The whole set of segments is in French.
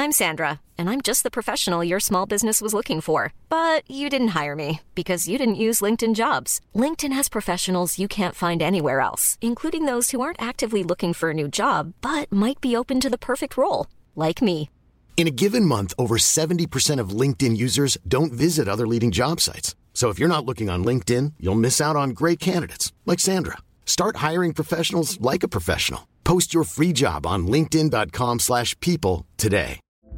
I'm Sandra, and I'm just the professional your small business was looking for. But you didn't hire me because you didn't use LinkedIn Jobs. LinkedIn has professionals you can't find anywhere else, including those who aren't actively looking for a new job, but might be open to the perfect role, like me. In a given month, over 70% of LinkedIn users don't visit other leading job sites. So if you're not looking on LinkedIn, you'll miss out on great candidates like Sandra. Start hiring professionals like a professional. Post your free job on linkedin.com/people today.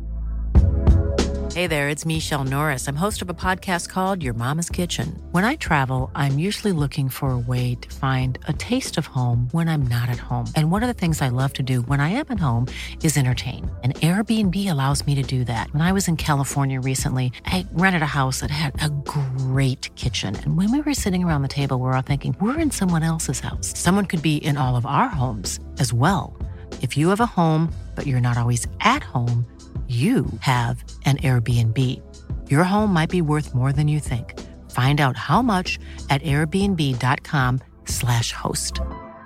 Hey there, it's Michelle Norris. I'm host of a podcast called Your Mama's Kitchen. When I travel, I'm usually looking for a way to find a taste of home when I'm not at home. And one of the things I love to do when I am at home is entertain. And Airbnb allows me to do that. When I was in California recently, I rented a house that had a great kitchen. And when we were sitting around the table, we're all thinking, we're in someone else's house. Someone could be in all of our homes as well. If you have a home, but you're not always at home, you have an Airbnb. Your home might be worth more than you think. Find out how much at airbnb.com/host.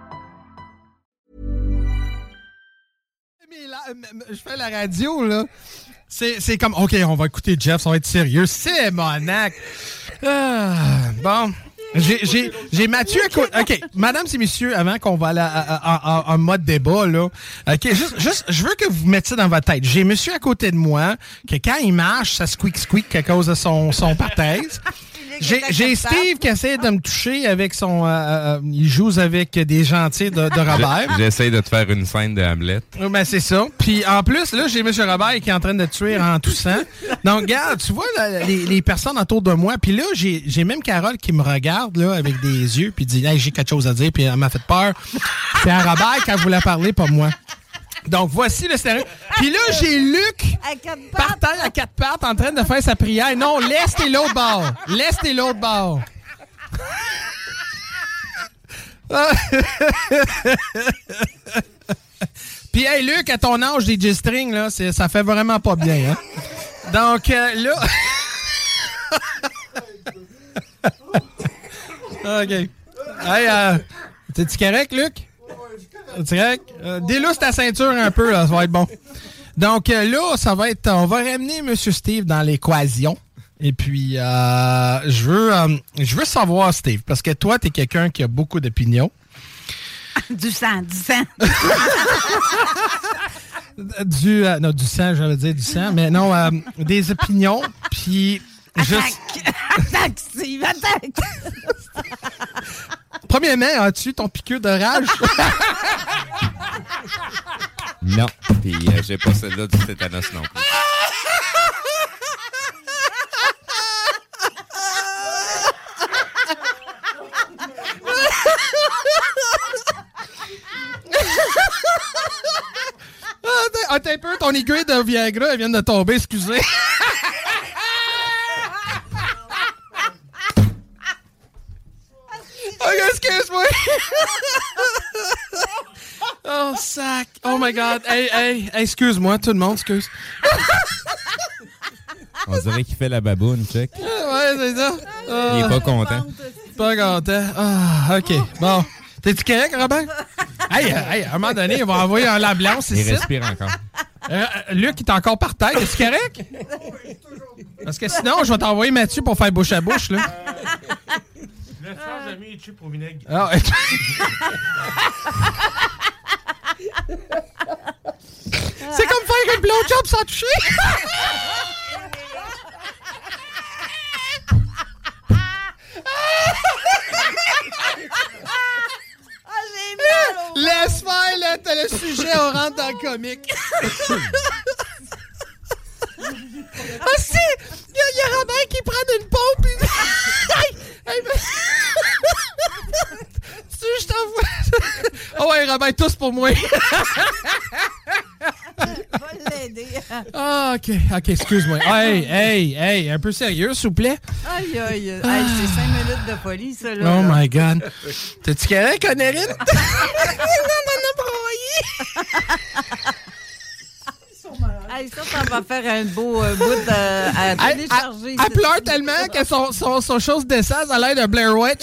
Je fais la radio, là. C'est comme, OK, on va écouter Jeff, ça va être sérieux. C'est monac. Bon. J'ai Mathieu à côté. OK, mesdames et messieurs, avant qu'on va aller en mode débat, là, OK, juste, je veux que vous mettiez ça dans votre tête. J'ai monsieur à côté de moi, que quand il marche, ça squeak à cause de son parthèse. J'ai Steve qui essaie de me toucher avec son... il joue avec des gentils de Robert. J'essaie de te faire une scène de Hamlet. Ben c'est ça. Puis en plus, là, j'ai M. Robert qui est en train de tuer en toussant. Donc, regarde, tu vois là, les personnes autour de moi. Puis là, j'ai même Carole qui me regarde là avec des yeux puis dit hey, « j'ai quelque chose à dire ». Puis elle m'a fait peur. C'est à Robert qu'elle voulait parler, pas moi. Donc, voici le stéréo. Puis là, j'ai Luc par terre à quatre pattes en train de faire sa prière. Non, l'est et l'autre bord. L'est et l'autre bord. Puis, hey, Luc, à ton âge des G-strings, là, ça fait vraiment pas bien, hein? Donc, là... OK. Hey, t'es-tu correct, Luc? C'est correct? Délousse ta ceinture un peu, là, ça va être bon. Donc là, ça va être... On va ramener M. Steve dans l'équation. Et puis, je veux savoir, Steve, parce que toi, t'es quelqu'un qui a beaucoup d'opinions. Du sang. Non, du sang, j'allais dire du sang, mais non, des opinions, puis... Attaque, Steve, attaque! Premièrement, as-tu ton piqûre de rage? Non, puis j'ai pas celle-là du tétanos non plus. Attends un peu, ton aiguille de Viagra, elle vient de tomber, excusez. OK, excuse-moi. Oh, sac. Oh, my God. Hey, excuse-moi, tout le monde, excuse. On dirait qu'il fait la baboune, check. Ouais, c'est ça. Il est pas content. Pas content. Ah, OK. Bon. T'es-tu correct, Robert? Hey, à un moment donné, on va envoyer un l'ambulance ici. Il respire encore. Luc, il est encore par terre. Es-tu correct? Parce que sinon, je vais t'envoyer Mathieu pour faire bouche à bouche, là. Le soir, j'ai mis les pour vinaigre. Ah, c'est comme faire un blowjob sans toucher. Laisse faire, là, t'as le sujet, on rentre dans le comique. Ah si! Il y a Robert qui prend une pompe et... je t'envoie... Oh ouais, Robert, tous pour moi. Va l'aider. Ah, OK, excuse-moi. Hey, un peu sérieux, s'il vous plaît. Aïe. C'est 5 minutes de folie, ça, là. Oh my God. T'es-tu correct, Connerine? On en a broyé. Hey, ça va faire un beau bout à télécharger. Elle pleure tellement que son chose d'essence a l'air de Blair Witch.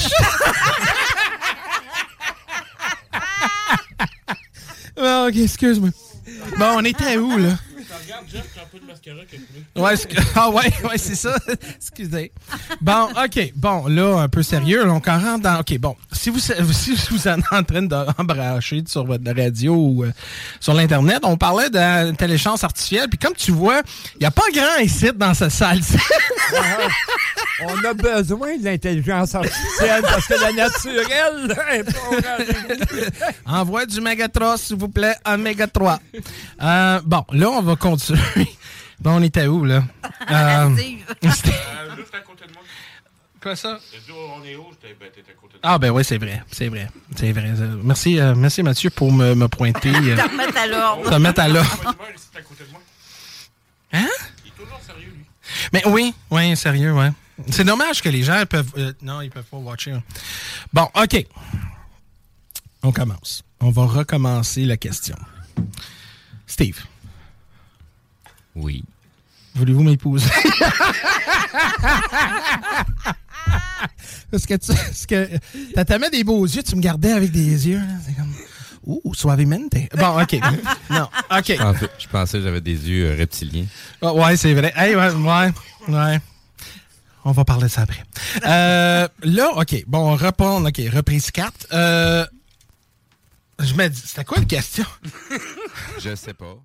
Bon, OK, excuse-moi. Bon, on était où, là? Ouais, c'est ça. Excusez. Bon, OK. Bon, là, un peu sérieux. Là, on rentre dans... OK, bon. Si vous êtes en train d'embracher sur votre radio ou sur l'Internet, on parlait d'intelligence artificielle. Puis comme tu vois, il n'y a pas grand ici dans cette salle-ci. On a besoin de l'intelligence artificielle parce que la naturelle est pas... Envoie du Méga 3, s'il vous plaît, un Méga 3. Bon, là, on va continuer. Bon, on était où, là? Juste à côté de moi. Quoi ça? On est où? T'es à côté de moi. Ah, ben oui, c'est vrai. Merci, Mathieu, pour me pointer. Te remettre à l'ordre. Te mettre à l'ordre. C'est à côté de moi. Hein? Il est toujours sérieux, lui. Mais oui, sérieux, ouais. C'est dommage que les gens peuvent... non, ils peuvent pas watcher. Bon, OK. On commence. On va recommencer la question. Steve. Oui. Voulez-vous m'épouser? Parce que t'as tellement des beaux yeux, tu me gardais avec des yeux. Là. C'est comme... Ouh, suavemente. Bon, OK. Non, OK. Je pensais que j'avais des yeux reptiliens. Oh, ouais, c'est vrai. Hey, ouais. On va parler de ça après. Là, OK. Bon, on répond. OK, reprise 4. Je me dis, c'était quoi la question? Je sais pas.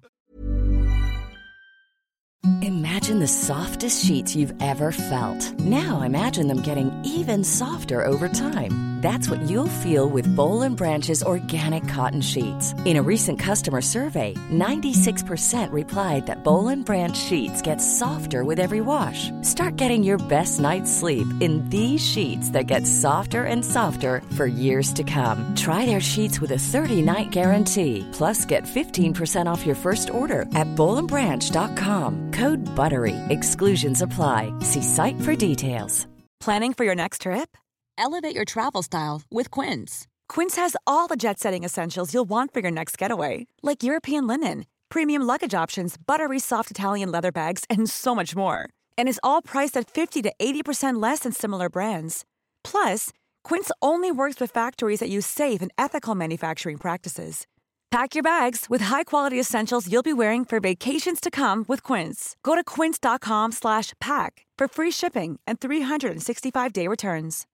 Imagine the softest sheets you've ever felt. Now imagine them getting even softer over time. That's what you'll feel with Boll & Branch's organic cotton sheets. In a recent customer survey, 96% replied that Boll & Branch sheets get softer with every wash. Start getting your best night's sleep in these sheets that get softer and softer for years to come. Try their sheets with a 30-night guarantee. Plus, get 15% off your first order at bollandbranch.com. Code BUTTERY. Exclusions apply. See site for details. Planning for your next trip? Elevate your travel style with Quince. Quince has all the jet-setting essentials you'll want for your next getaway, like European linen, premium luggage options, buttery soft Italian leather bags, and so much more. And is all priced at 50 to 80% less than similar brands. Plus, Quince only works with factories that use safe and ethical manufacturing practices. Pack your bags with high-quality essentials you'll be wearing for vacations to come with Quince. Go to quince.com/pack for free shipping and 365-day returns.